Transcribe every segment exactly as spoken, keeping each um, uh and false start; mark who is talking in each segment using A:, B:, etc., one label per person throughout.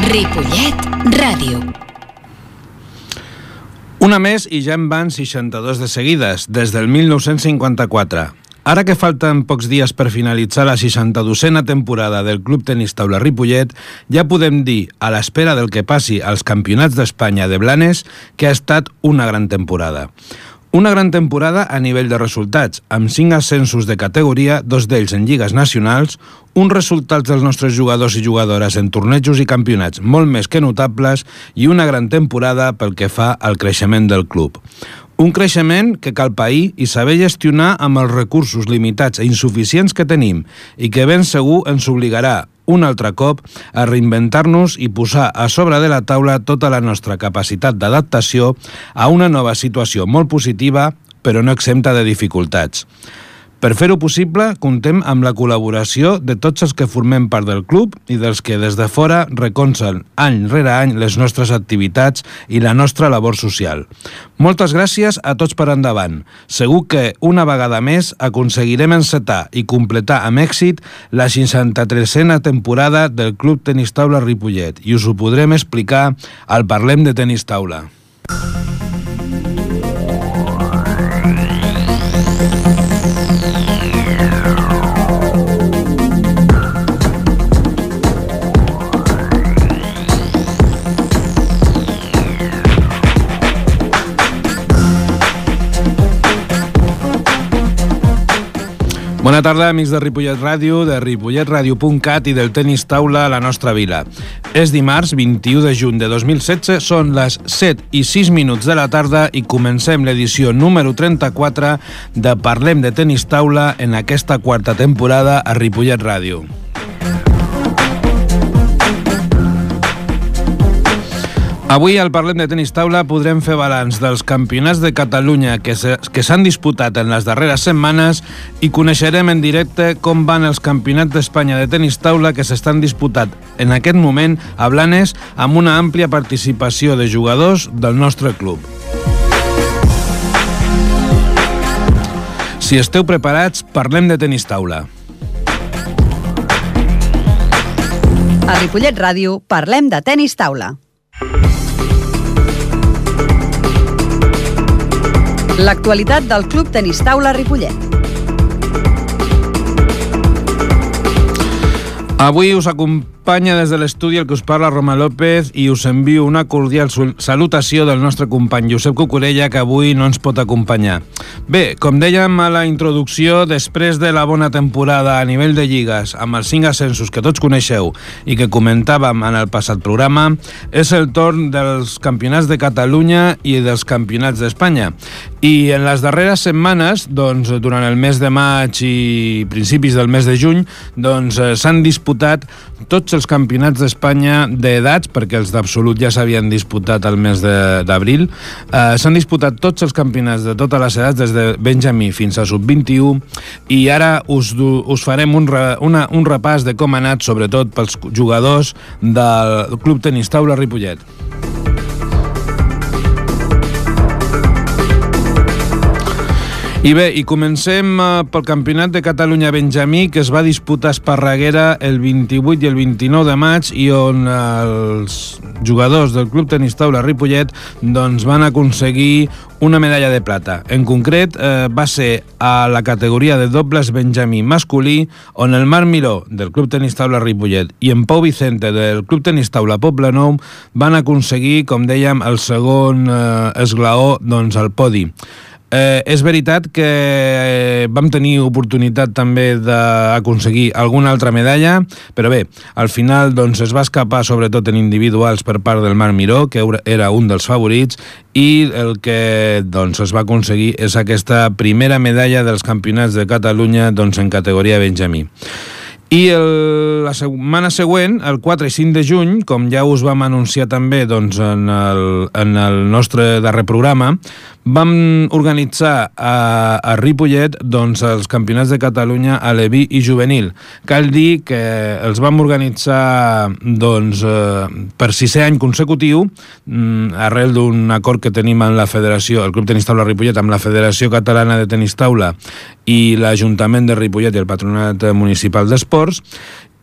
A: Ripollet Ràdio.
B: Una més i ja en van seixanta-dos de seguides, des del mil nou-cents cinquanta-quatre. Ara que falten pocs dies per finalitzar la seixanta-dosena temporada del Club Tenis Taula Ripollet, ja podem dir, a l'espera del que passi als Campionats d'Espanya de Blanes, que ha estat una gran temporada. Una gran temporada a nivell de resultats, amb cinc ascensos de categoria, dos d'ells en lligues nacionals, uns resultats dels nostres jugadors i jugadores en tornejos i campionats molt més que notables i una gran temporada pel que fa al creixement del club. Un creixement que cal pair i saber gestionar amb els recursos limitats i insuficients que tenim i que ben segur ens obligarà un altre cop a reinventar-nos i posar a sobre de la taula tota la nostra capacitat d'adaptació a una nova situació molt positiva, però no exempta de dificultats. Per fer-ho possible, contem amb la col·laboració de tots els que formem part del club i dels que des de fora recolzen any rere any les nostres activitats i la nostra labor social. Moltes gràcies a tots per endavant. Segur que una vegada més aconseguirem encetar i completar amb èxit la seixanta-tresena temporada del Club Tenis Taula Ripollet i us ho podrem explicar al Parlem de Tenis Taula. Bona tarda, amics de Ripollet Ràdio, de ripollet ràdio punt cat i del Tenis Taula a la nostra vila. És dimarts, vint-i-u de juny de dos mil setze, són les set i sis minuts de la tarda i comencem l'edició número trenta-quatre de Parlem de Tenis Taula en aquesta quarta temporada a Ripollet Ràdio. Avui al Parlem de Tenis Taula podrem fer balanç dels campionats de Catalunya que s'han disputat en les darreres setmanes i coneixerem en directe com van els campionats d'Espanya de tenis taula que s'estan disputant en aquest moment a Blanes amb una àmplia participació de jugadors del nostre club. Si esteu preparats, parlem de tenis taula.
C: A Ripollet Ràdio parlem de tenis taula. L'actualitat del Club Tenis Taula Ripollet.
B: Avui us acompanya des de l'estudi el que us parla Roma López i us envio una cordial salutació del nostre company Josep Cucurella, que avui no ens pot acompanyar. Bé, com dèiem a la introducció, després de la bona temporada a nivell de lligues, amb els cinc ascensos que tots coneixeu i que comentàvem en el passat programa, és el torn dels campionats de Catalunya i dels campionats d'Espanya. I en les darreres setmanes, doncs, durant el mes de maig i principis del mes de juny, doncs, s'han disputat tots els campionats d'Espanya d'edats, perquè els d'absolut ja s'havien disputat el mes d'abril. Eh, s'han disputat tots els campionats de totes les edats, des de Benjamí fins a sub vint-i-u, i ara us, us farem un, re, una, un repàs de com ha anat, sobretot pels jugadors del Club Tenis Taula Ripollet. I bé, i comencem pel Campionat de Catalunya Benjamí, que es va disputar a Esparreguera el vint-i-vuit i el vint-i-nou de maig i on els jugadors del Club Tenis Taula Ripollet doncs, van aconseguir una medalla de plata. En concret, eh, va ser a la categoria de dobles Benjamí masculí, on el Marc Miró, del Club Tenis Taula Ripollet, i en Pau Vicente, del Club Tenis Taula Poblenou, van aconseguir, com dèiem, el segon eh, esglaó doncs, al podi. Eh, és veritat que eh, vam tenir oportunitat també d'aconseguir alguna altra medalla, però bé, al final doncs, es va escapar sobretot en individuals per part del Marc Miró, que era un dels favorits, i el que doncs, es va aconseguir és aquesta primera medalla dels campionats de Catalunya doncs, en categoria Benjamí. I el, la setmana següent, el quatre i cinc de juny, com ja us vam anunciar també doncs, en, el, en el nostre darrer programa, vam organitzar a, a Ripollet doncs, els campionats de Catalunya a Leví i juvenil. Cal dir que els vam organitzar doncs, eh, per sisè any consecutiu, arrel d'un acord que tenim amb la Federació, el Club Tenis Taula Ripollet, amb la Federació Catalana de Tenis Taula i l'Ajuntament de Ripollet i el Patronat Municipal d'Esports.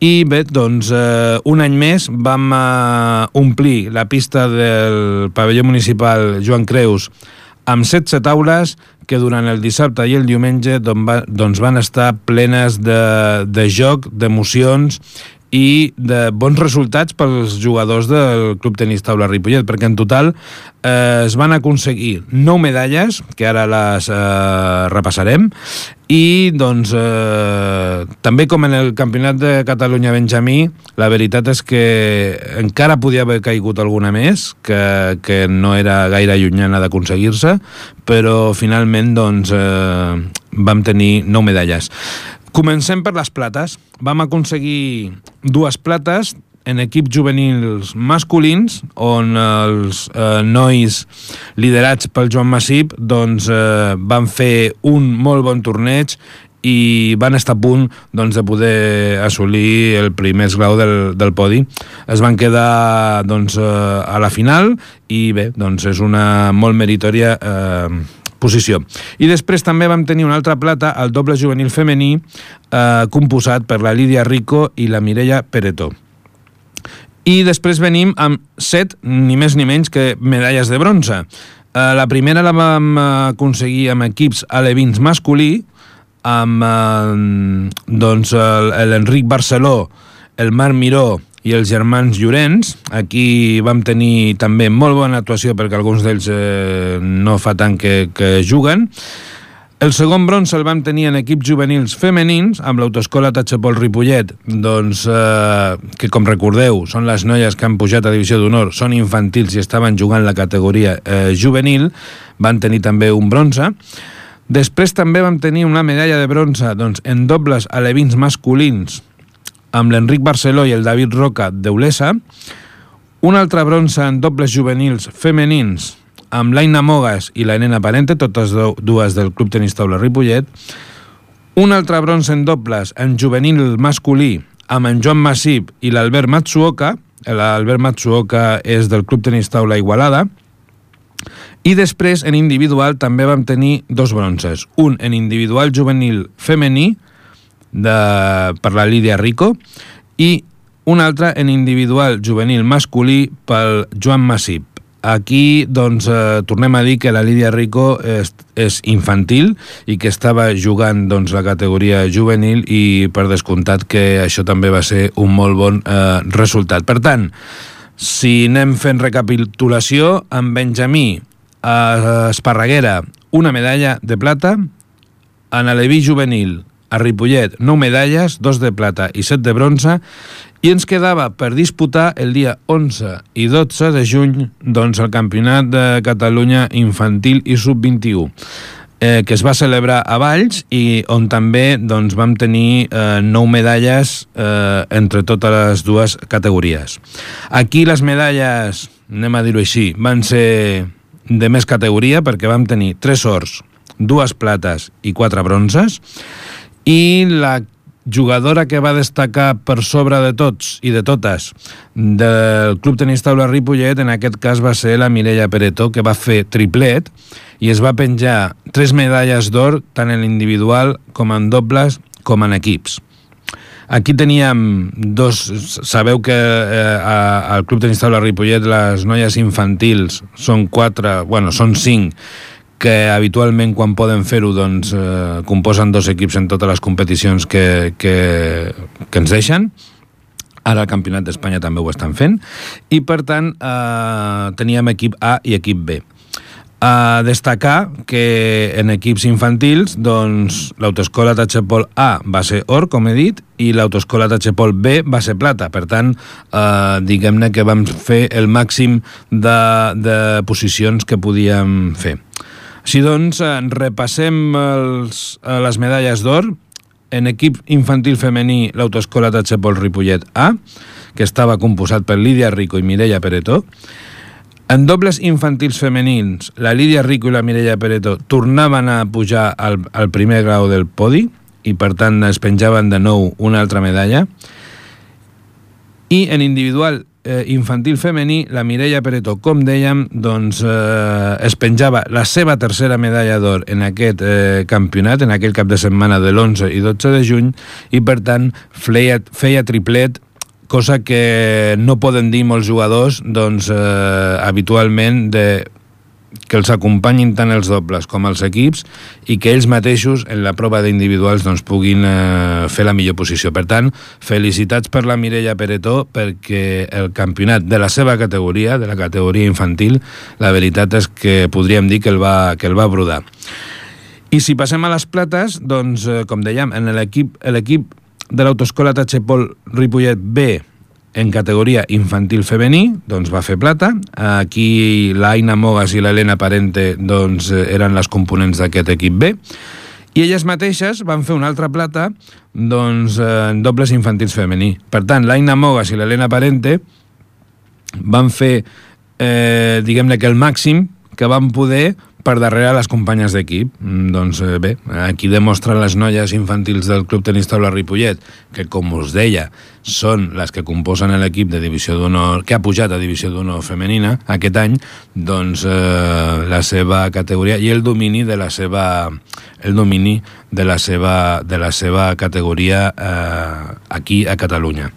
B: I bé, doncs, eh, un any més vam eh, omplir la pista del pavelló municipal Joan Creus amb setze taules que durant el dissabte i el diumenge doncs, va, doncs van estar plenes de, de joc, d'emocions i de bons resultats pels jugadors del Club Tenis Taula Ripollet, perquè en total eh, es van aconseguir nou medalles, que ara les eh, repassarem, i doncs eh, també com en el Campionat de Catalunya Benjamí, la veritat és que encara podia haver caigut alguna més, que, que no era gaire llunyana d'aconseguir-se, però finalment doncs, eh, vam tenir nou medalles. Comencem per les plates. Vam aconseguir dues plates en equips juvenils masculins, on els eh, nois liderats pel Joan Massip doncs, eh, van fer un molt bon torneig i van estar a punt doncs, de poder assolir el primer esglau del, del podi. Es van quedar doncs, eh, a la final i bé, doncs és una molt meritòria eh, posició. I després també vam tenir una altra plata al doble juvenil femení eh, composat per la Lídia Rico i la Mireia Peretó. I després venim amb set, ni més ni menys que medalles de bronze. Eh, la primera la vam aconseguir amb equips alevins masculí, amb eh, doncs l'Enric Barceló, el Marc Miró i els germans Llorenç. Aquí vam tenir també molt bona actuació perquè alguns d'ells eh, no fa tant que, que juguen. El segon bronze el vam tenir en equips juvenils femenins amb l'Autoescola Tachepol Ripollet, doncs, eh, que com recordeu són les noies que han pujat a Divisió d'Honor, són infantils i estaven jugant la categoria eh, juvenil, van tenir també un bronze. Després també vam tenir una medalla de bronze doncs, en dobles alevins masculins amb l'Enric Barceló i el David Roca d'Eulesa, un altre bronze en dobles juvenils femenins amb l'Aina Mogas i la Nena Parente, totes dues del Club Tenis Taula Ripollet, un altre bronze en dobles en juvenil masculí amb en Joan Massip i l'Albert Matsuoka, l'Albert Matsuoka és del Club Tenis Taula Igualada, i després en individual també vam tenir dos bronzes, un en individual juvenil femení, De, per la Lídia Rico i un altre en individual juvenil masculí pel Joan Massip. Aquí doncs, eh, tornem a dir que la Lídia Rico és, és infantil i que estava jugant doncs, la categoria juvenil i per descomptat que això també va ser un molt bon eh, resultat. Per tant, si anem fent recapitulació, en Benjamí a Esparreguera una medalla de plata, en aleví juvenil a Ripollet, nou medalles, dos de plata i set de bronze, i ens quedava per disputar el dia onze i dotze de juny doncs, el Campionat de Catalunya Infantil i sub vint-i-u, eh, que es va celebrar a Valls i on també doncs, vam tenir eh, nou medalles eh, entre totes les dues categories. Aquí les medalles, anem a dir-ho així, van ser de més categoria perquè vam tenir tres ors, dues plates i quatre bronzes, i la jugadora que va destacar per sobre de tots i de totes del Club Tenis Taula Ripollet en aquest cas va ser la Mireia Peretó, que va fer triplet i es va penjar tres medalles d'or tant en l'individual com en dobles com en equips. Aquí teníem dos, sabeu que eh, al Club Tenis Taula Ripollet les noies infantils són quatre, bueno, són cinc, que habitualment quan poden fer-ho doncs, eh, composen dos equips en totes les competicions que, que, que ens deixen. Ara el Campionat d'Espanya també ho estan fent. I per tant eh, teníem equip A i equip B. A destacar que en equips infantils doncs, l'Autoescola Tachepol A va ser or, com he dit, i l'Autoescola Tachepol B va ser plata. Per tant, eh, diguem-ne que vam fer el màxim de, de posicions que podíem fer. Així doncs, repassem els, les medalles d'or. En equip infantil femení, l'Autoescola Tachepol Ripollet A, que estava composat per Lídia Rico i Mireia Peretó. En dobles infantils femenins, la Lídia Rico i la Mireia Peretó tornaven a pujar al, al primer grau del podi i, per tant, es penjaven de nou una altra medalla. I en individual eh, infantil femení, la Mireia Peretó, com dèiem, doncs, eh, es penjava la seva tercera medalla d'or en aquest eh, campionat, en aquell cap de setmana de l'onze i dotze de juny, i per tant feia, feia triplet, cosa que no poden dir molts jugadors doncs, eh, habitualment de que els acompanyin tant els dobles com els equips i que ells mateixos en la prova d'individuals doncs, puguin eh, fer la millor posició. Per tant, felicitats per la Mireia Peretó perquè el campionat de la seva categoria, de la categoria infantil, la veritat és que podríem dir que el va, que el va brodar. I si passem a les plates, doncs, eh, com dèiem, en l'equip l'equip de l'Autoescola Tachepol Ripollet B en categoria infantil femení, doncs va fer plata. Aquí l'Aina Mogas i l'Helena Parente doncs, eren les components d'aquest equip B. I elles mateixes van fer una altra plata doncs, en dobles infantils femení. Per tant, l'Aina Mogas i l'Helena Parente van fer, eh, diguem-ne que el màxim que van poder per darrere les companyes d'equip. Doncs bé, aquí demostren les noies infantils del Club Tenis Taula Ripollet, que com us deia, són les que composen l'equip de Divisió d'Honor, que ha pujat a Divisió d'Honor femenina aquest any, doncs eh, la seva categoria i el domini de la seva el domini de la seva, de la seva categoria eh, aquí a Catalunya.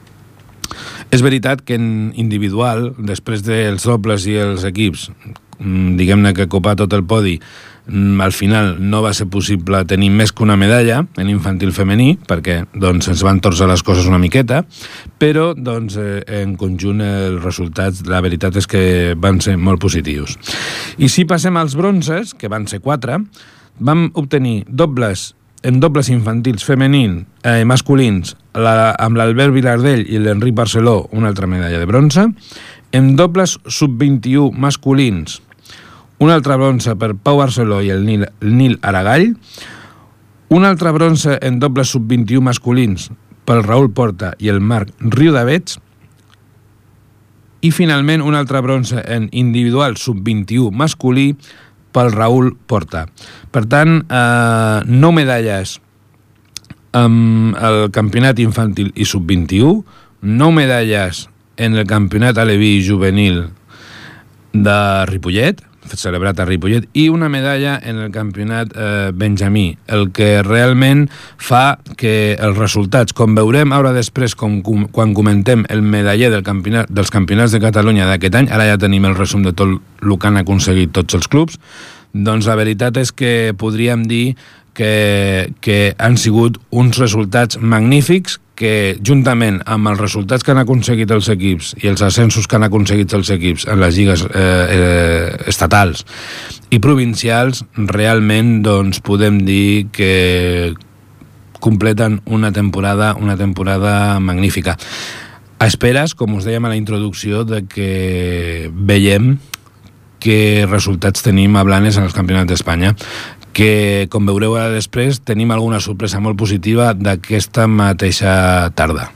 B: És veritat que en individual, després dels dobles i els equips, diguem-ne que copar tot el podi, al final no va ser possible tenir més que una medalla en infantil femení, perquè doncs, ens van torçar les coses una miqueta, però doncs, eh, en conjunt els resultats, la veritat és que van ser molt positius. I si passem als bronzes, que van ser quatre, vam obtenir dobles en dobles infantils femenins, eh, masculins, la, amb l'Albert Vilardell i l'Enric Barceló, una altra medalla de bronze. En dobles sub vint-i-u masculins, un altre bronze per Pau Barceló i el Nil, el Nil Aragall, un altre bronze en dobles sub vint-i-u masculins pel Raül Porta i el Marc Riudavets, i finalment un altre bronze en individual sub vint-i-u masculí pel Raül Porta. Per tant, eh, nou medalles amb el campionat infantil i sub vint-i-u, nou medalles en el campionat aleví juvenil de Ripollet, celebrat a Ripollet, i una medalla en el campionat eh, benjamí, el que realment fa que els resultats, com veurem ara després, com, com, quan comentem el medaller del campionat, dels campionats de Catalunya d'aquest any, ara ja tenim el resum de tot el que han aconseguit tots els clubs, doncs la veritat és que podríem dir que, que han sigut uns resultats magnífics que, juntament amb els resultats que han aconseguit els equips i els ascensos que han aconseguit els equips en les lligues eh, eh, estatals i provincials, realment doncs, podem dir que completen una temporada, una temporada magnífica. A esperes, com us dèiem a la introducció, de que veiem que resultats tenim a Blanes en els campionats d'Espanya, que, com veureu ara després, tenim alguna sorpresa molt positiva d'aquesta mateixa tarda.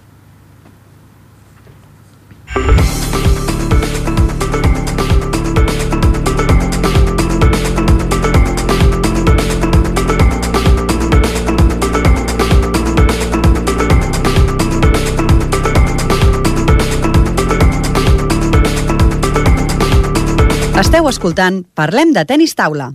C: Esteu escoltant Parlem de Tenis Taula.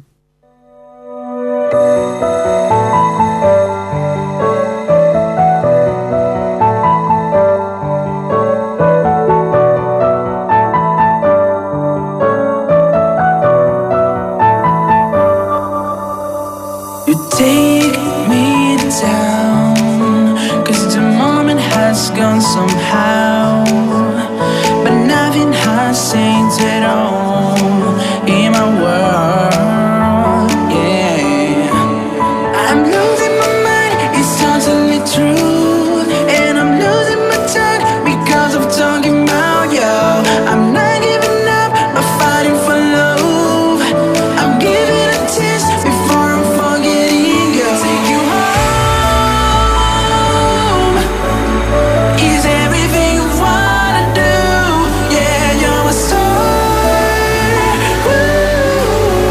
D: Woo!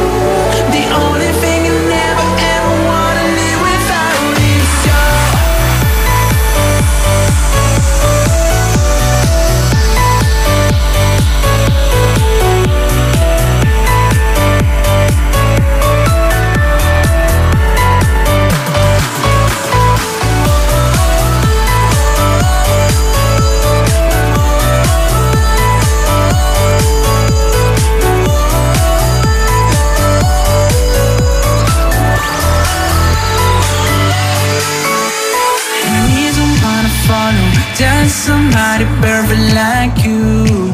D: just somebody perfect like you.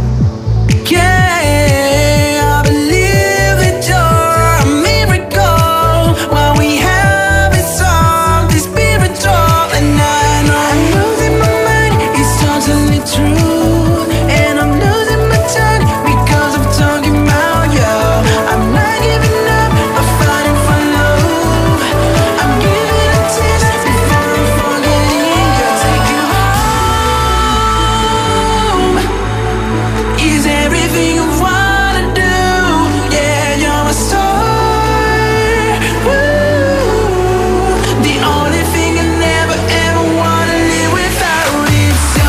D: Yeah, I believe that you're a miracle. What we have is something spiritual, and I know I'm losing my mind. It's totally true, and I'm losing my tongue because I'm talking about you. I'm not giving up. I'm fighting for love. I'm giving a taste before I'm forgetting you. Take you home. Is everything you wanna do? Yeah, you're a star. Woo. The only thing I never ever wanna live without is you.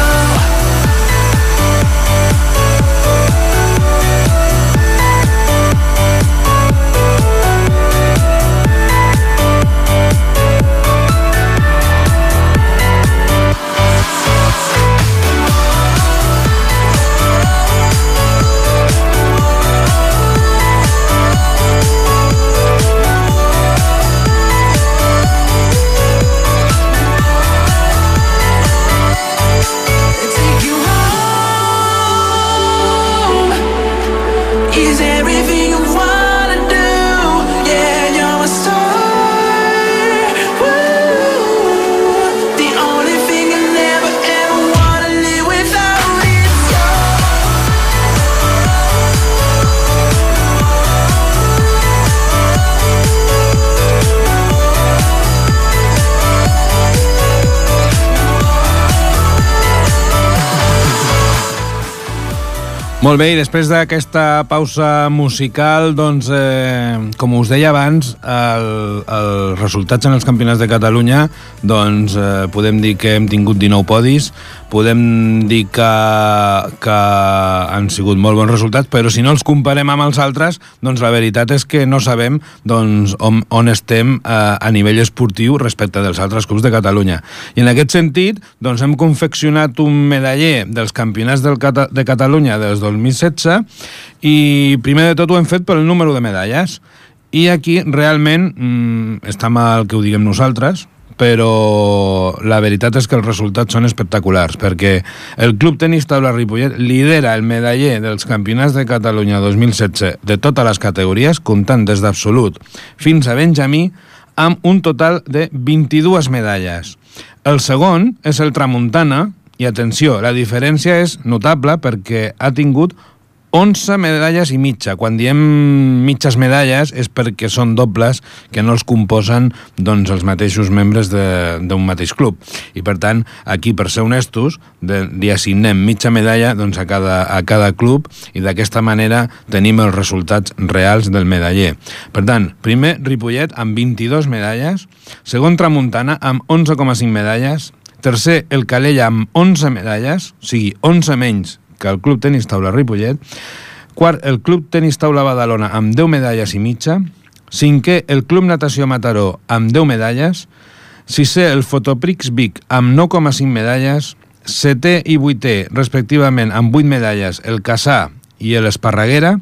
D: Take you home. Is everything you wanna do? Yeah, you're a star. Woo. The only thing I never ever wanna live without is you.
B: Molt bé, i després d'aquesta pausa musical, doncs, eh, com us deia abans, el, els resultats en els campionats de Catalunya, doncs, eh, podem dir que hem tingut dinou podis, podem dir que, que han sigut molt bons resultats, però si no els comparem amb els altres, doncs la veritat és que no sabem doncs, on, on estem eh, a nivell esportiu respecte dels altres clubs de Catalunya. I en aquest sentit, doncs, hem confeccionat un medaller dels campionats del Cata- de Catalunya dels dos mil setze i primer de tot ho hem fet pel número de medalles. I aquí realment mmm, està mal que ho diguem nosaltres, però la veritat és que els resultats són espectaculars, perquè el Club Tenis Taula Ripollet lidera el medaller dels campionats de Catalunya dos mil setze de totes les categories, comptant des d'absolut fins a benjamí, amb un total de vint-i-dues medalles. El segon és el Tramuntana, i atenció, la diferència és notable perquè ha tingut onze medalles i mitja. Quan diem mitges medalles és perquè són dobles que no els composen doncs, els mateixos membres d'un mateix club. I per tant, aquí, per ser honestos, de, li assignem mitja medalla doncs, a, cada, a cada club i d'aquesta manera tenim els resultats reals del medaller. Per tant, primer Ripollet amb vint-i-dues medalles, segon Tramuntana amb onze coma cinc medalles, tercer el Calella amb onze medalles, o sigui, onze menys que el Club Tenis Taula Ripollet, quart el Club Tenis Taula Badalona amb deu medalles i mitja, cinquè el Club Natació Mataró amb deu medalles, sisè el Fotoprix Vic amb nou coma cinc medalles, setè i vuitè respectivament amb vuit medalles el Cassà i l'Esparreguera,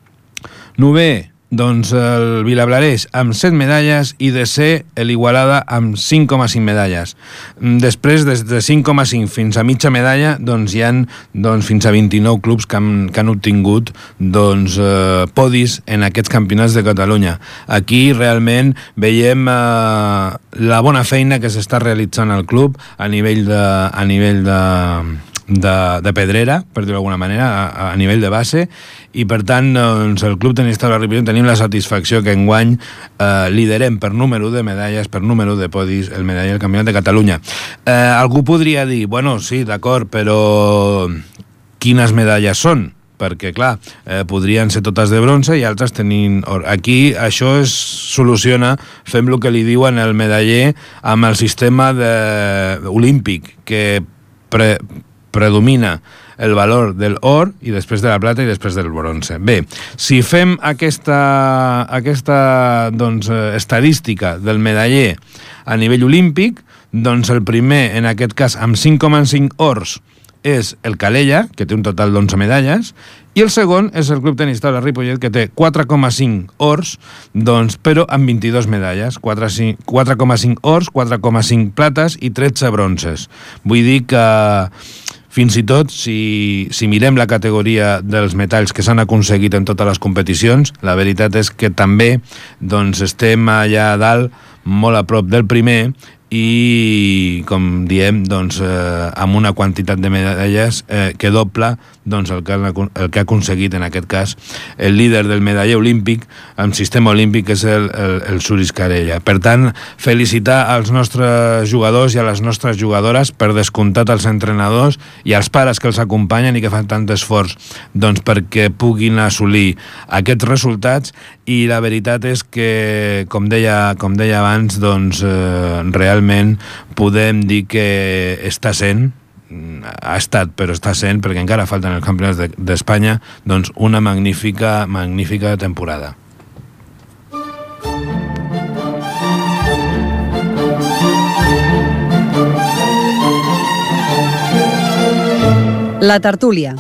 B: novè doncs el Vilablareix amb set medalles i desè l'Igualada amb cinc coma cinc medalles. Després, des de cinc coma cinc fins a mitja medalla, doncs hi ha doncs, fins a vint-i-nou clubs que han, que han obtingut doncs, eh, podis en aquests campionats de Catalunya. Aquí realment veiem eh, la bona feina que s'està realitzant al club a nivell de... A nivell de De, de pedrera, per dir-ho d'alguna manera, a, a nivell de base, i per tant doncs, el Club Tenis Taula Ripollet tenim la satisfacció que enguany eh, liderem per número de medalles, per número de podis, el medaller del Campionat de Catalunya. Eh, algú podria dir, bueno, sí, d'acord, però quines medalles són? Perquè, clar, eh, podrien ser totes de bronze i altres tenint or. Aquí això es soluciona, fem el que li diuen el medaller amb el sistema de... olímpic, que pre... predomina el valor del or i després de la plata i després del bronze. Bé, si fem aquesta, aquesta doncs, estadística del medaller a nivell olímpic, doncs el primer, en aquest cas, amb cinc coma cinc ors, és el Calella, que té un total d'onze medalles, i el segon és el Club Tenis Taula Ripollet, que té quatre coma cinc ors, doncs, però amb vint-i-dos medalles, quatre coma cinc ors, quatre coma cinc plates i tretze bronces. Vull dir que fins i tot, si, si mirem la categoria dels metalls que s'han aconseguit en totes les competicions, la veritat és que també doncs, estem allà a dalt, molt a prop del primer, i, com diem, doncs, eh, amb una quantitat de medalles eh, que dobla doncs, el, que, el que ha aconseguit, en aquest cas, el líder del medaller olímpic, amb sistema olímpic, que és el, el, el Suris Calella. Per tant, felicitar als nostres jugadors i a les nostres jugadores, per descomptat als entrenadors i als pares que els acompanyen i que fan tant esforç doncs, perquè puguin assolir aquests resultats, i la veritat és que, com deia, com deia abans, doncs, eh, realment podem dir que està sent, ha estat, però està sent, perquè encara falten els campionats d'Espanya, doncs una magnífica, magnífica temporada.
C: La tertúlia.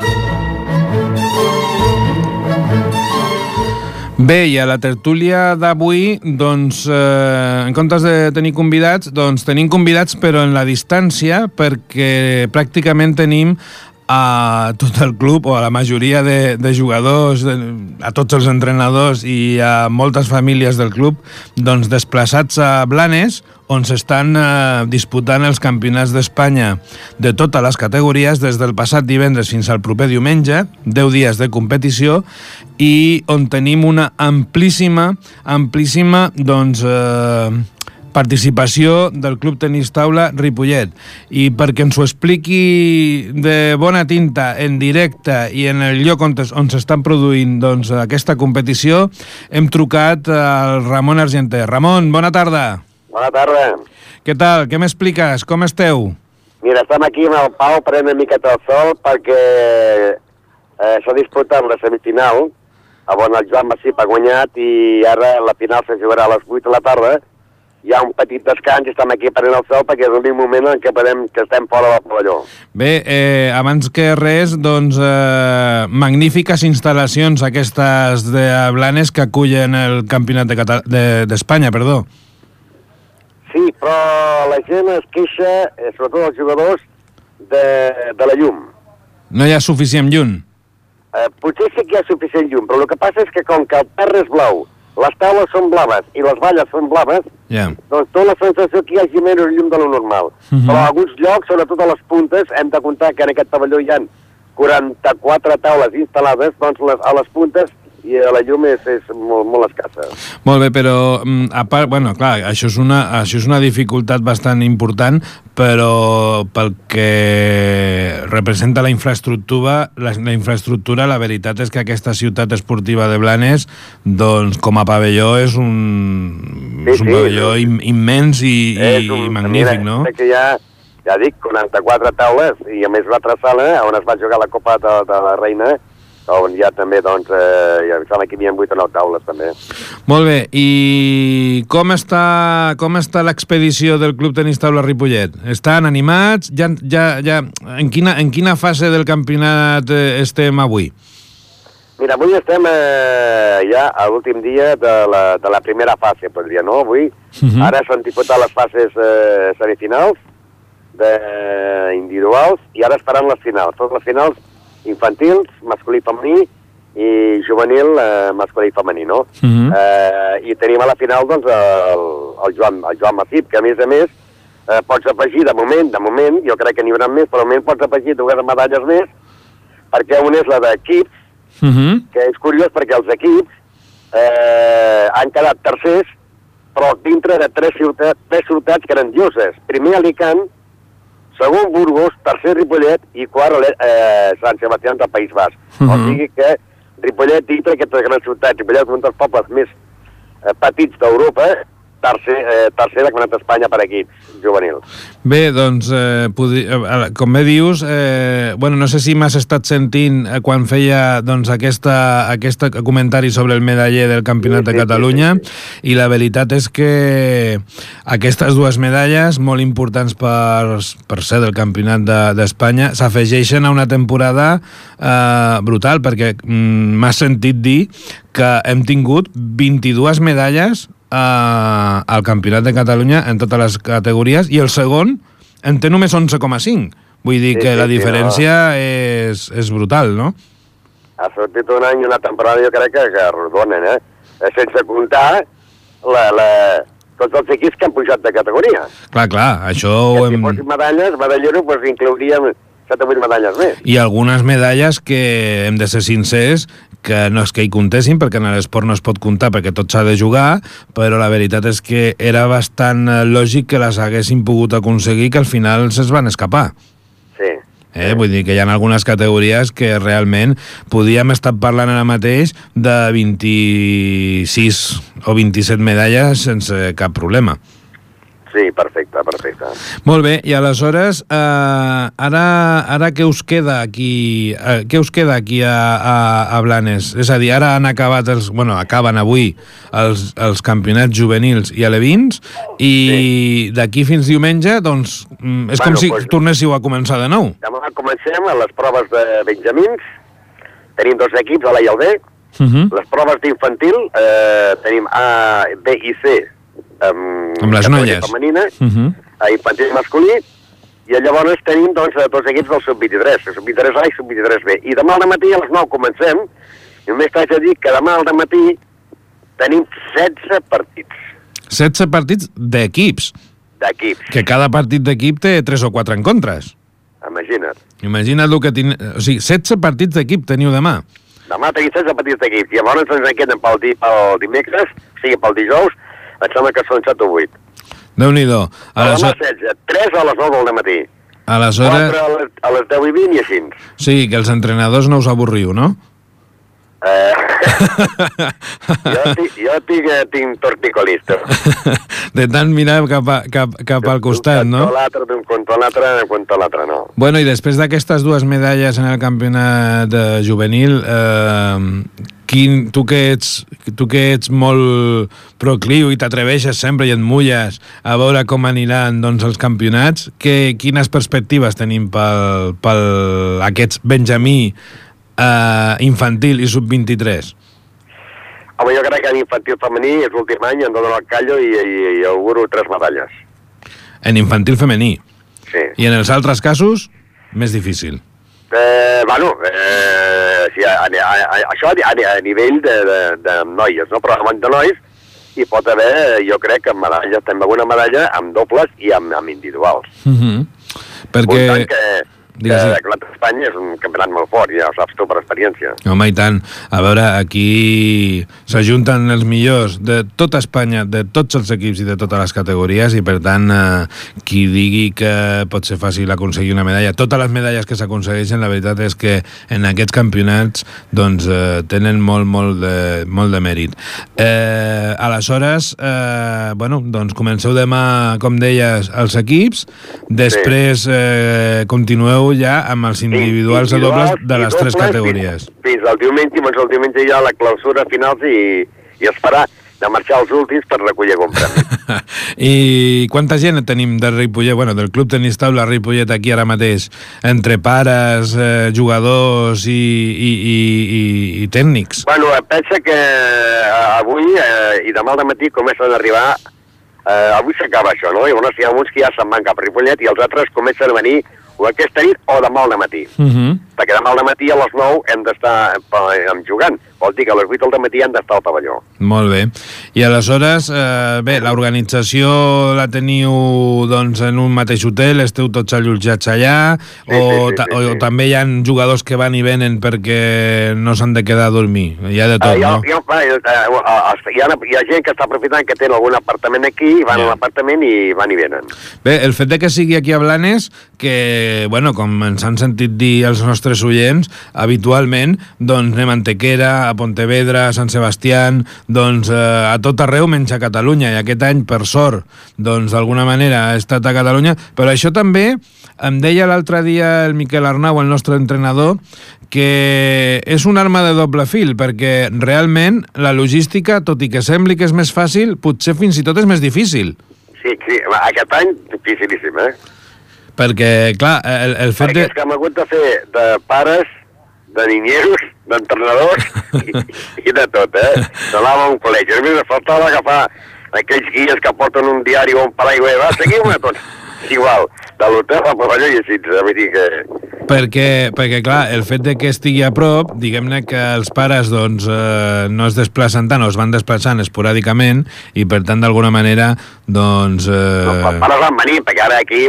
B: Bé, i a la tertúlia d'avui, doncs, eh, en comptes de tenir convidats, doncs tenim convidats però en la distància, perquè pràcticament tenim a tot el club, o a la majoria de, de jugadors, a tots els entrenadors i a moltes famílies del club, doncs desplaçats a Blanes, on s'estan eh, disputant els campionats d'Espanya de totes les categories des del passat divendres fins al proper diumenge, deu dies de competició, i on tenim una amplíssima, amplíssima, doncs, eh, participació del Club Tenis Taula Ripollet. I perquè ens ho expliqui de bona tinta, en directe i en el lloc on, on s'estan produint doncs, aquesta competició, hem trucat al Ramon Argenter. Ramon, bona tarda.
E: Bona tarda.
B: Què tal? Què m'expliques? Com esteu?
E: Mira, estem aquí amb el Pau prenent una miqueta el sol perquè eh, s'ha disputat la semifinal on el Joan Massip ha guanyat i ara la final se jugarà a les vuit de la tarda. Hi ha un petit descans i estem aquí prenent el sol perquè és l'únic moment en què, podem, que estem fora del pavelló.
B: Bé, eh, abans que res, doncs, eh, magnífiques instal·lacions aquestes de Blanes que acullen el campionat de Cata- de, d'Espanya, perdó.
E: Sí, però la gent es queixa, eh, sobretot els jugadors, de, de la llum.
B: No hi ha suficient llum?
E: Eh, potser sí que hi ha suficient llum, però el que passa és que com que el terra és blau, les taules són blaves i les valles són blaves,
B: yeah.
E: doncs té la sensació que hi hagi menys llum de lo normal. Uh-huh. Però a alguns llocs, sobretot a les puntes, hem de comptar que en aquest pavelló hi ha quaranta-quatre taules instal·lades, doncs les, a les puntes i la llum és, és molt, molt escassa.
B: Molt bé, però a part, bueno, clar, això és, una, això és una dificultat bastant important, però pel que representa la infraestructura, la, la infraestructura, la veritat és que aquesta ciutat esportiva de Blanes, doncs com a pavelló és un,
E: sí,
B: és un
E: sí,
B: pavelló
E: sí.
B: immens i, i
E: un,
B: magnífic,
E: mira,
B: no?
E: Que hi ha, ja dic, quaranta-quatre taules i a més una altra sala on es va jugar la Copa de, de la Reina, on hi ha també, doncs, eh, ja sembla que hi havia vuit o nou taules, també.
B: Molt bé, i com està, com està l'expedició del Club Tenis Taula Ripollet? Estan animats? Ja, ja, ja, en, quina, en quina fase del campionat estem avui?
E: Mira, avui estem eh, ja a l'últim dia de la, de la primera fase, podria, no? Avui, uh-huh. Ara s'han disputat les fases eh, semifinals, de, individuals, i ara es faran les finals. Totes les finals infantils, masculí i femení, i juvenil, eh, masculí i femení, no? Uh-huh. eh, I tenim a la final, doncs, el, el, Joan, el Joan Massip, que a més a més eh, pots afegir, de moment, de moment, jo crec que n'hi haurà més, però de moment pots afegir dues medalles més, perquè una és la d'equips, uh-huh. que és curiós perquè els equips eh, han quedat tercers, però dintre de tres ciutats, tres ciutats grandioses. Primer Alicant, segon Burgos, tercer Ripollet i quart eh, Sant Sebastià del País Basc. Uh-huh. O sigui que Ripollet, dintre d'aquestes grans ciutats, Ripollet és un dels pobles més eh, petits d'Europa, tercer, eh, tercer de Campionat d'Espanya per equips juvenils.
B: Bé, doncs, eh, podri... eh, com bé dius, eh, bueno, no sé si m'has estat sentint eh, quan feia doncs, aquesta, aquest comentari sobre el medaller del Campionat
E: Sí,
B: de
E: sí,
B: Catalunya,
E: sí,
B: i la veritat és que aquestes dues medalles, molt importants per, per ser del Campionat d'Espanya, de, s'afegeixen a una temporada eh, brutal, perquè mm, m'has sentit dir que hem tingut vint-i-dues medalles Uh, al Campionat de Catalunya en totes les categories, i el segon en té només onze coma cinc. Vull dir
E: Sí,
B: que
E: sí,
B: la
E: sí,
B: diferència no. és, és brutal, no?
E: Ha sortit un any i una temporada, jo crec que, que rodonen, eh? Sense comptar la, la, tots els equips que han pujat de categoria.
B: Clar, clar, això
E: Que
B: ho
E: si
B: hem...
E: fossin medalles, medallero, doncs inclouríem set o vuit medalles més.
B: I algunes medalles que hem de ser sincers, que no és que hi comptessin, perquè en l'esport no es pot comptar perquè tot s'ha de jugar, però la veritat és que era bastant lògic que les haguessin pogut aconseguir, que al final se's van escapar.
E: Sí.
B: Eh? Vull dir que hi ha algunes categories que realment podíem estar parlant ara mateix de vint-i-sis o vint-i-set medalles sense cap problema.
E: Sí, perfecte, perfecte.
B: Molt bé, i aleshores, eh, ara, ara què us queda aquí, eh, què us queda aquí a, a, a Blanes? És a dir, ara han acabat els, bueno, acaben avui els, els campionats juvenils i alevins, i sí. d'aquí fins diumenge, doncs, és bueno, com si pues, tornéssiu a començar de nou.
E: Demà comencem a les proves de benjamins, tenim dos equips, a l'A i el B,
B: Uh -huh.
E: les proves d'infantil, eh, tenim A, B i C, amb,
B: amb les noies
E: femenina,
B: uh -huh.
E: a infantil masculí, i llavors tenim doncs, dos equips del sub vint-i-tres, el sub vint-i-tres A i sub vint-i-tres B. I demà al matí a les nou comencem, i només t'haig de dir que demà al matí tenim setze partits.
B: setze partits d'equips.
E: D'equips.
B: Que cada partit d'equip té tres o quatre encontres.
E: Imagina't.
B: Imagina't el que tin... O sigui, setze partits d'equip teniu demà.
E: Demà tenim setze partits d'equips, i llavors ens en queden pel, di pel dimecres, o sigui, pel dijous, em sembla que són set o vuit.
B: Déu-n'hi-do.
E: Demà setze, tres a les nou del matí.
B: Aleshores...
E: quatre a les, a les deu i vint i així.
B: Sí, que els entrenadors no us avorriu, no?
E: Eh... jo tinc, jo tinc, eh, tinc torticolista.
B: De tant mirar cap, a, cap, cap al costat, no?
E: D'un l'altre, d'un contra l'altre, contra l'altre, no.
B: Bueno, i després d'aquestes dues medalles en el campionat eh, juvenil, eh, quin, tu, que ets, tu que ets molt procliu i t'atreveixes sempre i et mulles a veure com aniran doncs, els campionats, que, quines perspectives tenim pel, pel aquests benjamí Uh, infantil i sub vint-i-tres?
E: Home, jo crec que en infantil femení és l'últim any, em donen el callo i, i, i auguro tres medalles.
B: En infantil femení?
E: Sí.
B: I en els altres casos, més difícil?
E: Eh, bueno, eh, sí, a, a, a, això a, a nivell de, de, de noies, no? Però amb de nois hi pot haver, jo crec, que medalles, també alguna medalla amb dobles i amb, amb individuals.
B: Uh -huh. Perquè...
E: Un tant que... Digues, que el Campionat d'Espanya és un campionat molt fort, ja ho saps tu per experiència.
B: Home, i tant. A veure, aquí s'ajunten els millors de tota Espanya, de tots els equips i de totes les categories, i per tant, eh, qui digui que pot ser fàcil aconseguir una medalla, totes les medalles que s'aconsegueixen, la veritat és que en aquests campionats doncs, eh, tenen molt, molt de, molt de mèrit. Eh, aleshores, eh, bueno, doncs comenceu demà, com deies, els equips, després sí. eh, continueu ja amb els individuals de dobles de les tres categories.
E: Fins, fins al diumenge, fins al diumenge ja la clausura finals i, i esperar de marxar als últims per recollir algun premi.
B: I quanta gent tenim de Ripollet, bueno, del Club Tenis Taula Ripollet aquí ara mateix, entre pares, eh, jugadors i, i, i, i, i tècnics?
E: Bueno, pensa que avui eh, i demà al matí comencen a arribar, eh, avui s'acaba això, no? I llavors hi ha uns que ja se'n van cap a Ripollet i els altres comencen a venir o aquesta nit o demà al matí.
B: Uh -huh.
E: Perquè demà al matí a les nou hem d'estar jugant. Vol dir que a les vuit del matí hem d'estar al pavelló.
B: Molt bé. I aleshores, eh, bé, l'organització la teniu doncs, en un mateix hotel, esteu tots allotjats allà,
E: sí,
B: o,
E: sí, sí, sí,
B: o,
E: sí.
B: o també hi ha jugadors que van i venen perquè no s'han de quedar a dormir? Hi ha de tot,
E: uh,
B: no?
E: Jo, jo, hi, ha, hi ha gent que està aprofitant que tenen algun apartament aquí, van yeah. a l'apartament i van i venen.
B: Bé, el fet de que sigui aquí a Blanes, que, bueno, com ens han sentit dir els nostres nostres oients, habitualment, doncs anem a Antequera, a Pontevedra, a Sant Sebastián, doncs eh, a tot arreu menys a Catalunya, i aquest any, per sort, doncs d'alguna manera ha estat a Catalunya, però això també em deia l'altre dia el Miquel Arnau, el nostre entrenador, que és una arma de doble fil, perquè realment la logística, tot i que sembli que és més fàcil, potser fins i tot és més difícil.
E: Sí, sí, aquest any dificilíssim, eh?
B: Perquè, clar, el, el fet
E: Perquè
B: de...
E: és que hem hagut de fer de pares, de niñeros, d'entrenadors i, i de tot, eh? Anàvem a un col·legi. A mi me faltava agafar aquells guies que porten un diari o un paraigua i va, seguiu-me tots. Igual, de l'hotel al pavelló i així, vull dir que...
B: Perquè, perquè, clar, el fet de que estigui a prop, diguem-ne que els pares doncs, eh, no es desplacen tant o es van desplaçant esporàdicament i, per tant, d'alguna manera, doncs... Eh...
E: No, els pares van venir, perquè ara aquí...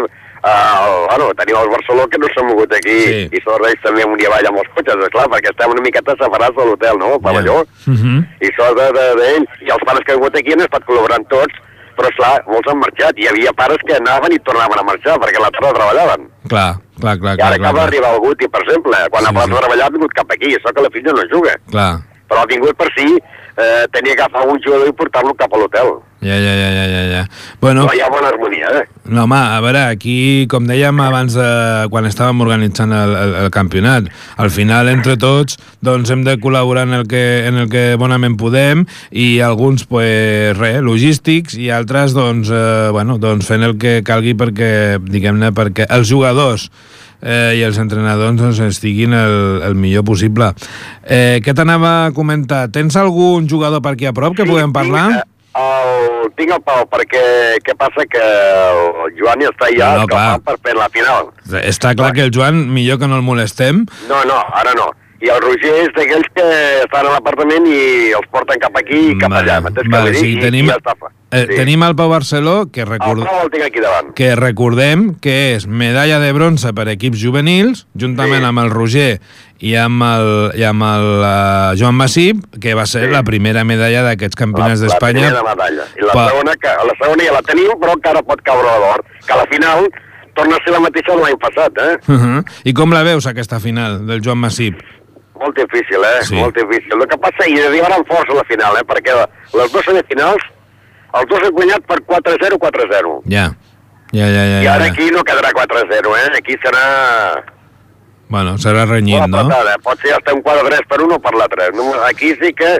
E: Uh, bueno, tenim el Barceló que no s'ha mogut aquí, sí. I són ells també un dia avall amb els cotxes, esclar, perquè estem una miqueta separats de l'hotel, no?, el pavelló, yeah. uh-huh. I són d'ells, de, de, i els pares que han vingut aquí han estat col·laborant tots, però esclar, molts han marxat, i hi havia pares que anaven i tornaven a marxar, perquè a la tarda treballaven.
B: Clar, clar, clar.
E: I ara
B: clar,
E: acaba
B: clar.
E: d'arribar el Guti, per exemple, quan sí, ha sí. treballat ha vingut cap aquí, això que la filla no juga.
B: Clar.
E: Però ha vingut per si eh, tenia que agafar un jugador i portar-lo cap a l'hotel.
B: Ja, ja, ja, ja, ja, ja. Bueno,
E: no hi ha bona harmonia, eh?
B: No, home, a veure, aquí, com dèiem abans, de, quan estàvem organitzant el, el, el campionat, al final, entre tots, doncs hem de col·laborar en el que, en el que bonament podem, i alguns, pues, res, logístics, i altres, doncs, eh, bueno, doncs fent el que calgui perquè, diguem-ne, perquè els jugadors eh, i els entrenadors doncs, estiguin el, el millor possible. Eh, què t'anava a comentar? Tens algun jugador per aquí a prop que sí, puguem parlar?
E: Sí, El, tinc el Pau, perquè què passa que el Joan ja està ja
B: no, no,
E: per fer la final.
B: Està clar que el Joan, millor que no el molestem.
E: No, no, ara no. I el Roger és d'aquells que estan a l'apartament i els porten cap aquí i cap
B: vale,
E: allà.
B: Vale, sí, i, tenim, i ja eh, sí. tenim el Pau Barceló, que, record...
E: el tinc aquí davant.
B: que recordem que és medalla de bronze per equips juvenils, juntament sí. amb el Roger i amb el, i amb el uh, Joan Massip, que va ser sí. la primera medalla d'aquests campionats d'Espanya.
E: La primera medalla. I la, pa... segona, que, la segona ja la tenim, però encara pot caure a l'or, que a la final torna a ser la mateixa de l'any passat. Eh?
B: Uh -huh. I com la veus, aquesta final del Joan Massip?
E: Molt difícil, eh?
B: Sí.
E: Molt difícil. El que passa, i arribaran força a la final, eh? Perquè les dues semifinals, els dos han guanyat per quatre zero quatre zero.
B: Ja. Ja, ja, ja.
E: I ara
B: ja.
E: aquí no quedarà quatre zero, eh? Aquí serà...
B: Bueno, serà renyit, no?
E: Patada. Pot ser hasta un quatre tres per un o per l'altre. Aquí sí que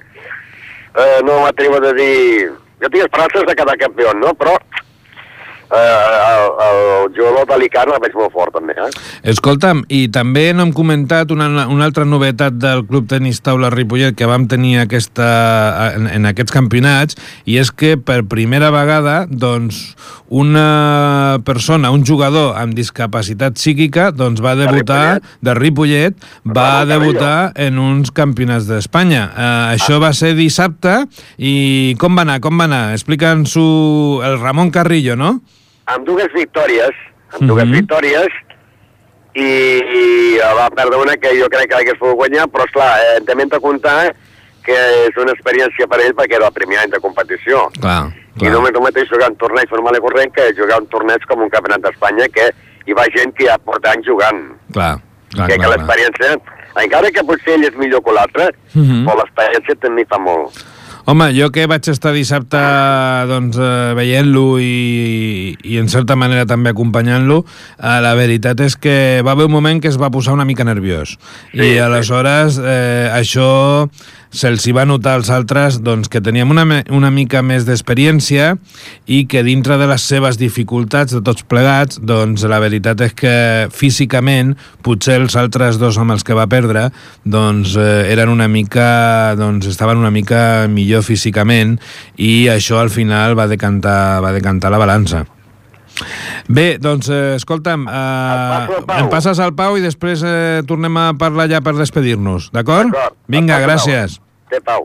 E: eh, no m'atrevo a dir... Jo tinc esperances de quedar campió, no? Però eh, el, el jugador d'Alicant el veig molt fort, també, eh?
B: Escolta'm, i també no hem comentat una, una altra novetat del Club Tenis Taula Ripollet que vam tenir aquesta, en, en aquests campionats, i és que per primera vegada, doncs, una persona, un jugador amb discapacitat psíquica, doncs va debutar, de Ripollet, va debutar en uns campionats d'Espanya. Eh, això va ser dissabte, i com va anar, com va anar? Explica'ns-ho el Ramon Carrillo, no?
E: Amb dues victòries, amb dues mm-hmm. victòries, i, i va perdre una que jo crec que hagués pogut guanyar, però esclar, eh, també hem de comptar que és una experiència per ell perquè era el primer any de competició.
B: Clar, clar.
E: I només el mateix jugar un torneig normal i corrent que jugar un torneig com un campionat d'Espanya, que hi va gent que ja porta anys jugant.
B: Clar, clar,
E: que,
B: clar.
E: Que l'experiència, encara que potser ell és millor que l'altre, mm-hmm. però l'experiència també fa molt.
B: Home, jo que vaig estar dissabte doncs, eh, veient-lo i, i en certa manera també acompanyant-lo, eh, la veritat és que va haver un moment que es va posar una mica nerviós. Sí, I aleshores eh, això se'ls hi va notar als altres doncs, que teníem una, una mica més d'experiència i que dintre de les seves dificultats de tots plegats, doncs la veritat és que físicament potser els altres dos amb els que va perdre doncs eh, eren una mica doncs estaven una mica millor físicament, i això al final va decantar, va decantar la balança. Bé, doncs, eh, escolta'm, eh, em passes al Pau i després eh, tornem a parlar ja per despedir-nos, d'acord? Vinga, gràcies.
E: Té, Pau.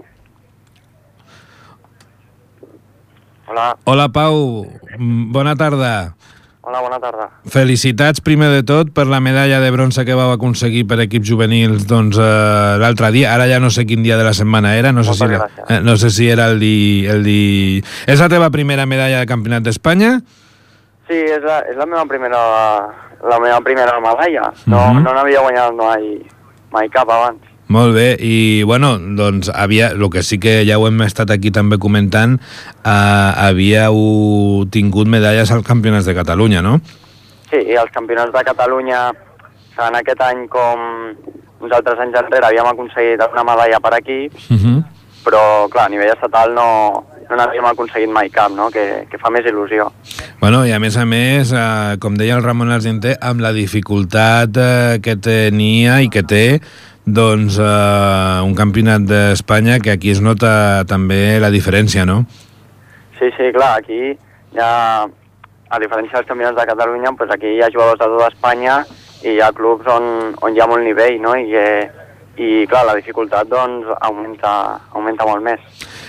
E: Hola.
B: Hola, Pau. Bona tarda.
F: Hola, bona tarda.
B: Felicitats, primer de tot, per la medalla de bronze que vau aconseguir per equips juvenils doncs, eh, l'altre dia. Ara ja no sé quin dia de la setmana era. No sé, si era, eh, no sé si era el di, el di... És la teva primera medalla de campionat d'Espanya?
F: Sí, és la, és la meva primera, la meva primera medalla. No
B: Mhm.
F: no n'havia guanyat mai, mai cap abans.
B: Molt bé, i bueno, doncs havia, el que sí que ja ho hem estat aquí també comentant, eh, havíeu tingut medalles als Campionats de Catalunya, no?
F: Sí, i els campionats de Catalunya, en aquest any com uns altres anys enrere, havíem aconseguit una medalla per aquí,
B: Uh -huh.
F: però clar, a nivell estatal no, no n'havíem aconseguit mai cap, no? que, que fa més il·lusió.
B: Bueno, i a més a més, eh, com deia el Ramon Argenter, amb la dificultat eh, que tenia i que té doncs eh, un campionat d'Espanya, que aquí es nota també la diferència, no?
F: Sí, sí, clar, aquí ja, a diferència dels campionats de Catalunya, doncs aquí hi ha jugadors de tota Espanya i hi ha clubs on, on hi ha molt nivell, no? I, eh, i clar, la dificultat doncs augmenta, augmenta molt més.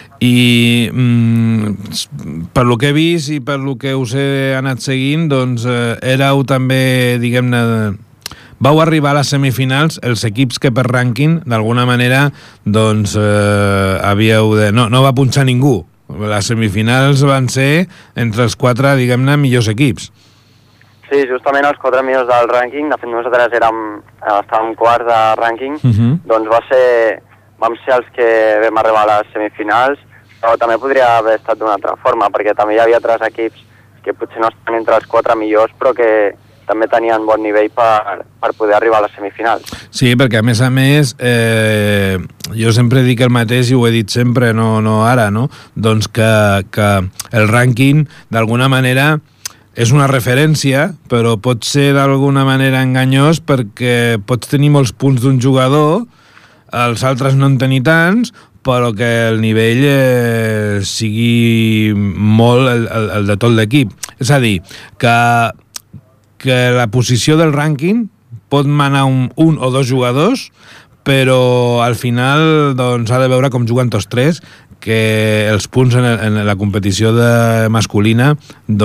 B: I mm, per lo que he vist i per lo que us he anat seguint, doncs eh, éreu també, diguem-ne, vau arribar a les semifinals els equips que per rànquing d'alguna manera doncs eh, havíeu de... No, no va punxar ningú. Les semifinals van ser entre els quatre, diguem-ne, millors equips.
F: Sí, justament els quatre millors del rànquing, de fet nosaltres érem, estàvem quarts de rànquing,
B: Uh -huh.
F: doncs va ser, vam ser els que vam arribar a les semifinals, però també podria haver estat d'una altra forma, perquè també hi havia tres equips que potser no estan entre els quatre millors, però que també tenien bon nivell per, per poder arribar a les semifinals.
B: Sí, perquè a més a més eh, jo sempre dic el mateix i ho he dit sempre, no, no ara, no? Doncs que, que el rànquing d'alguna manera és una referència, però pot ser d'alguna manera enganyós perquè pots tenir molts punts d'un jugador, els altres no en tenir tants, però que el nivell eh, sigui molt el, el, el de tot l'equip. És a dir, que, que la posició del rànquing pot manar un, un o dos jugadors, però al final doncs, ha de veure com juguen tots tres, que els punts en, el, en la competició de masculina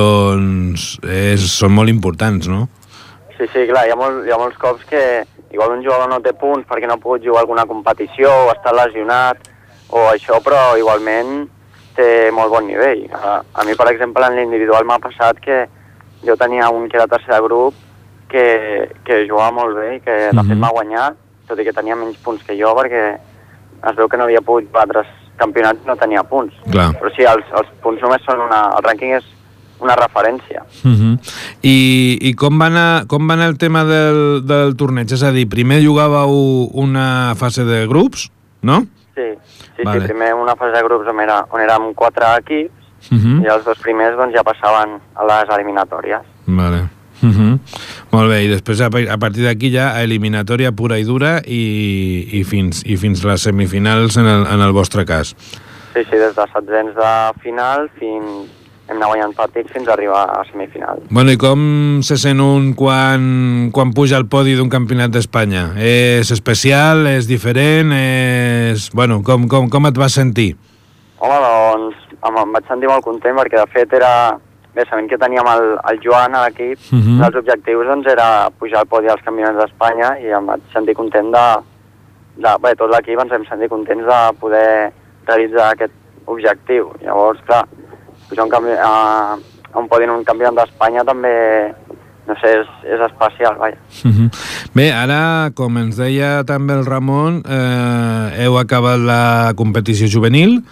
B: doncs és, són molt importants, no?
F: Sí, sí, clar, hi ha, molt, hi ha molts cops que igual un jugador no té punts perquè no ha pogut jugar a alguna competició o està lesionat o això, però igualment té molt bon nivell. A, a mi, per exemple, en l'individual m'ha passat que jo tenia un que era tercer de grup que, que jugava molt bé i que de
B: Mhm.
F: fet m'ha guanyat, tot i que tenia menys punts que jo perquè es veu que no havia pogut batre campionats i no tenia punts.
B: Clar.
F: Però sí, els, els punts només són una... El rànquing és una referència.
B: Uh -huh. I, i com, va anar, com va anar el tema del, del torneig? És a dir, primer jugàveu una fase de grups, no?
F: Sí, sí,
B: Vale.
F: sí, primer una fase de grups on, era, on érem quatre equips
B: Uh -huh.
F: i els dos primers doncs, ja passaven a les eliminatòries.
B: Vale. Uh -huh. Molt bé, i després a, a partir d'aquí ja a eliminatòria pura i dura i, i, fins, i fins les semifinals en el, en el vostre cas.
F: Sí, sí, des de setzents de final fins... hem anat guanyant partits fins a arribar a semifinal.
B: Bueno, i com se sent un quan, quan puja al podi d'un campionat d'Espanya? És especial, és diferent, és... Bueno, com, com, com et vas sentir?
F: Home, doncs em, em vaig sentir molt content perquè de fet era... Bé, sabent que teníem el, el Joan a l'equip,
B: Uh -huh.
F: un dels objectius doncs, era pujar al podi als campionats d'Espanya i em vaig sentir content de... de bé, tot l'equip ens hem sentit contents de poder realitzar aquest objectiu. Llavors, clar, pujar un campi a, a un podi en un campionat d'Espanya també, no sé, és, és especial, vaja.
B: Uh -huh. Bé, ara, com ens deia també el Ramon, eh, heu acabat la competició juvenil,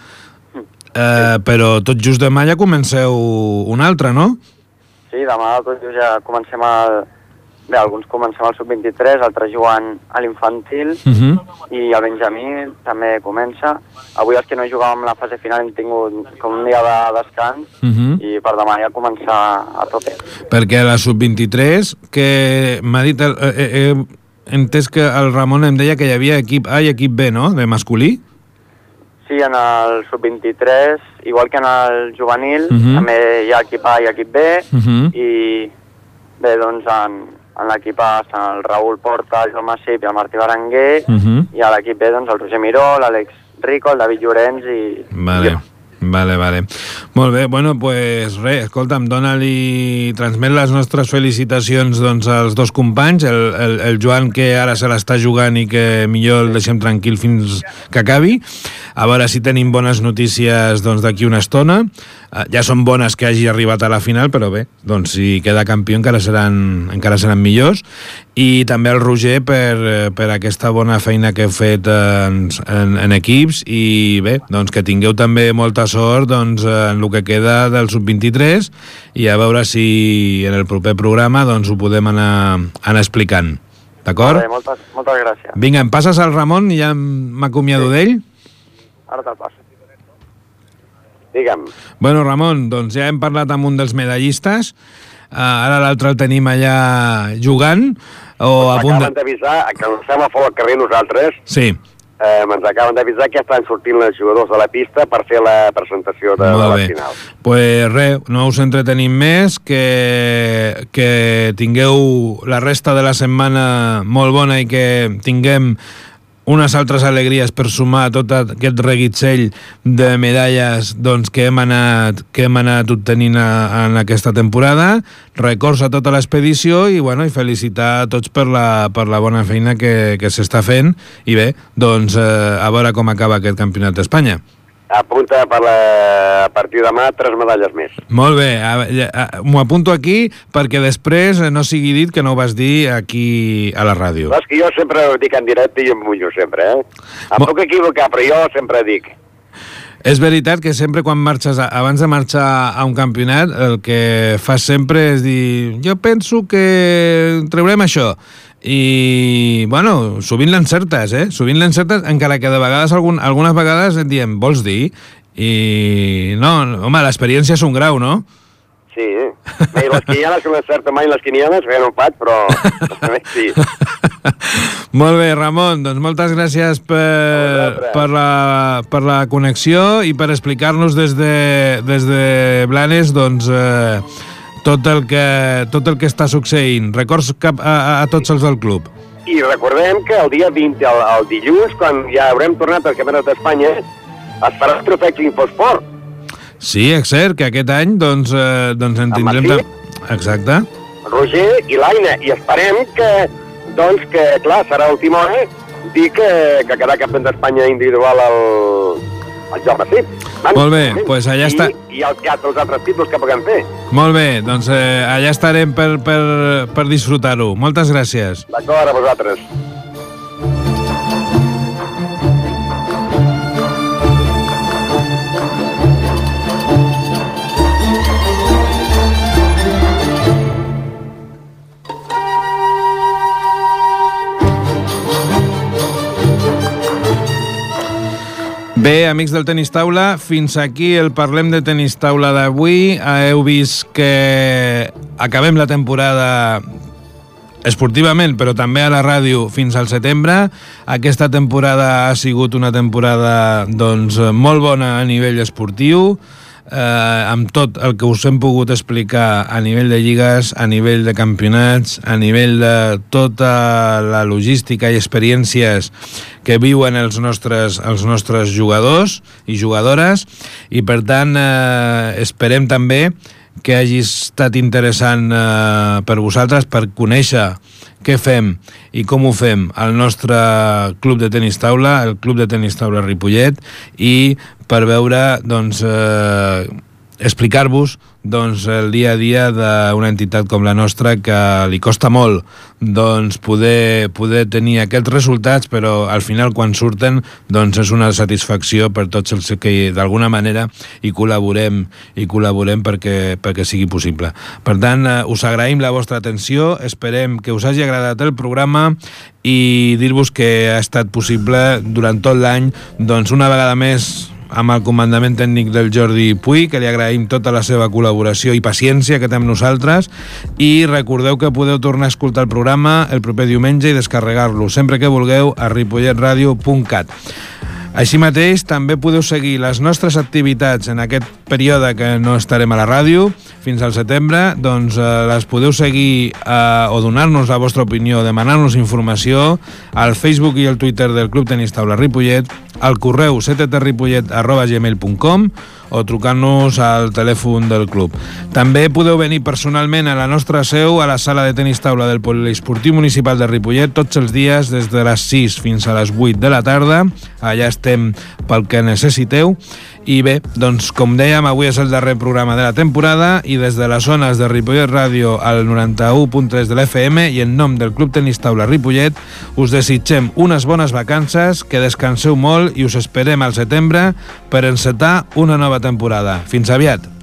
B: eh, però tot just demà ja comenceu una altra, no?
F: Sí, demà tot just ja comencem el... Bé, alguns comencem al sub vint-i-tres, altres jugant a l'infantil,
B: Uh -huh.
F: i el Benjamí també comença. Avui els que no jugàvem la fase final hem tingut com un dia de descans
B: Uh -huh.
F: i per demà ja començar a tope.
B: Perquè a la sub vint-i-tres, que m'ha dit... El, eh, eh, he entès que el Ramon em deia que hi havia equip A i equip B, no?, de masculí?
F: Sí, en el sub vint-i-tres, igual que en el juvenil,
B: Uh -huh.
F: també hi ha equip A i equip B,
B: Uh -huh.
F: i bé, doncs en, en l'equip A estan el Raül Porta, el Joan Massip i el Martí Berenguer,
B: Uh -huh.
F: i a l'equip B doncs el Roger Miró, l'Àlex Rico, el David Llorenç i...
B: Vale.
F: i jo.
B: Vale, vale. Molt bé, bueno, pues res, escolta'm, dona-li, transmet les nostres felicitacions doncs, als dos companys, el, el, el Joan, que ara se l'està jugant i que millor el deixem tranquil fins que acabi, a veure si tenim bones notícies doncs, d'aquí una estona, ja són bones que hagi arribat a la final, però bé, doncs si queda campió encara seran, encara seran millors. I també el Roger per, per aquesta bona feina que heu fet en, en, en equips, i bé, doncs que tingueu també molta sort doncs, en el que queda del sub vint-i-tres, i a veure si en el proper programa doncs, ho podem anar, anar explicant. D'acord?
F: Vale, moltes, moltes gràcies.
B: Vinga, em passes al Ramon i ja m'acomiado sí. d'ell?
F: Ara te'l passo.
E: Digue'm.
B: Bueno, Ramon, doncs ja hem parlat amb un dels medallistes, uh, ara l'altre el tenim allà jugant, o
E: Ens
B: a punt de...
E: acaben d'avisar, que ens estem a fora al carrer nosaltres,
B: Sí.
E: eh, ens acaben d'avisar que estan sortint els jugadors de la pista per fer la presentació de, de
B: Molt
E: la
B: bé.
E: final.
B: Pues res, no us entretenim més, que, que tingueu la resta de la setmana molt bona i que tinguem unes altres alegries per sumar tot aquest reguitzell de medalles doncs, que, hem anat, que hem anat obtenint a, en aquesta temporada. Records a tota l'expedició i, bueno, i felicitar a tots per la, per la bona feina que, que s'està fent. I bé, doncs eh, a veure com acaba aquest campionat d'Espanya.
E: Apunta per la, a partir de demà tres medalles més.
B: Molt bé, m'ho apunto aquí perquè després no sigui dit que no ho vas dir aquí a la ràdio.
E: És que jo sempre ho dic en directe i em mullo sempre, eh? Em
B: Mo-
E: puc equivocar, però jo sempre dic.
B: És veritat que sempre quan marxes, abans de marxar a un campionat, el que fas sempre és dir, jo penso que traurem això. I, bueno, sovint l'encertes, eh? Sovint l'encertes, encara que de vegades, algun, algunes vegades et diem, vols dir? I, no, home, l'experiència és un grau, no?
E: Sí, eh? Bé, les quinieles, que no encerto mai les quinieles, bé, no ho faig, però sí.
B: Molt bé, Ramon, doncs moltes gràcies per, per, la, per la connexió i per explicar-nos des de, des de Blanes, doncs, eh, tot el que, tot el que està succeint. Records cap a, a, a tots els del club.
E: I recordem que el dia vint, el, el dilluns, quan ja haurem tornat al Campionat d'Espanya, es farà el trofeig Infosport.
B: Sí, és cert que aquest any doncs, eh, doncs en
E: Amb
B: tindrem...
E: Martí.
B: tam- Exacte.
E: Roger i l'Aina, i esperem que, doncs, que, clar, serà l'última hora dir que, que quedarà campió d'Espanya individual al, al joc sí.
B: Molt bé, doncs allà
E: I,
B: està.
E: I els, els altres títols que puguem fer.
B: Molt bé, doncs eh, allà estarem per, per, per disfrutar-ho. Moltes gràcies.
E: D'acord, a vosaltres.
B: Bé, amics del Tenis Taula, fins aquí el Parlem de Tenis Taula d'avui. Heu vist que acabem la temporada esportivament, però també a la ràdio fins al setembre. Aquesta temporada ha sigut una temporada doncs, molt bona a nivell esportiu, eh, amb tot el que us hem pogut explicar a nivell de lligues, a nivell de campionats, a nivell de tota la logística i experiències que viuen els nostres, els nostres jugadors i jugadores, i per tant eh, esperem també que hagi estat interessant eh, per vosaltres per conèixer què fem i com ho fem al nostre club de tenis taula, el Club de Tenis Taula Ripollet, i per veure, doncs, eh, explicar-vos doncs, el dia a dia d'una entitat com la nostra que li costa molt doncs, poder, poder tenir aquests resultats, però al final quan surten doncs, és una satisfacció per tots els que d'alguna manera hi col·laborem, hi col·laborem perquè, perquè sigui possible. Per tant, eh, us agraïm la vostra atenció, esperem que us hagi agradat el programa i dir-vos que ha estat possible durant tot l'any, doncs una vegada més amb el comandament tècnic del Jordi Puig, que li agraïm tota la seva col·laboració i paciència que té amb nosaltres, i recordeu que podeu tornar a escoltar el programa el proper diumenge i descarregar-lo sempre que vulgueu a ripollet radio punt cat. Així mateix, també podeu seguir les nostres activitats en aquest període que no estarem a la ràdio fins al setembre, doncs eh, les podeu seguir eh, o donar-nos la vostra opinió, demanar-nos informació al Facebook i al Twitter del Club Tenis Taula Ripollet, al correu c t t ripollet arroba gmail punt com o trucant-nos al telèfon del club. També podeu venir personalment a la nostra seu a la sala de tenis taula del Poliesportiu Municipal de Ripollet tots els dies des de les sis fins a les vuit de la tarda. Allà estem pel que necessiteu I bé, doncs com dèiem, avui és el darrer programa de la temporada i des de les zones de Ripollet Ràdio al noranta-u punt tres de l'F M i en nom del Club Tenis Taula Ripollet us desitgem unes bones vacances, que descanseu molt i us esperem al setembre per encetar una nova temporada. Fins aviat!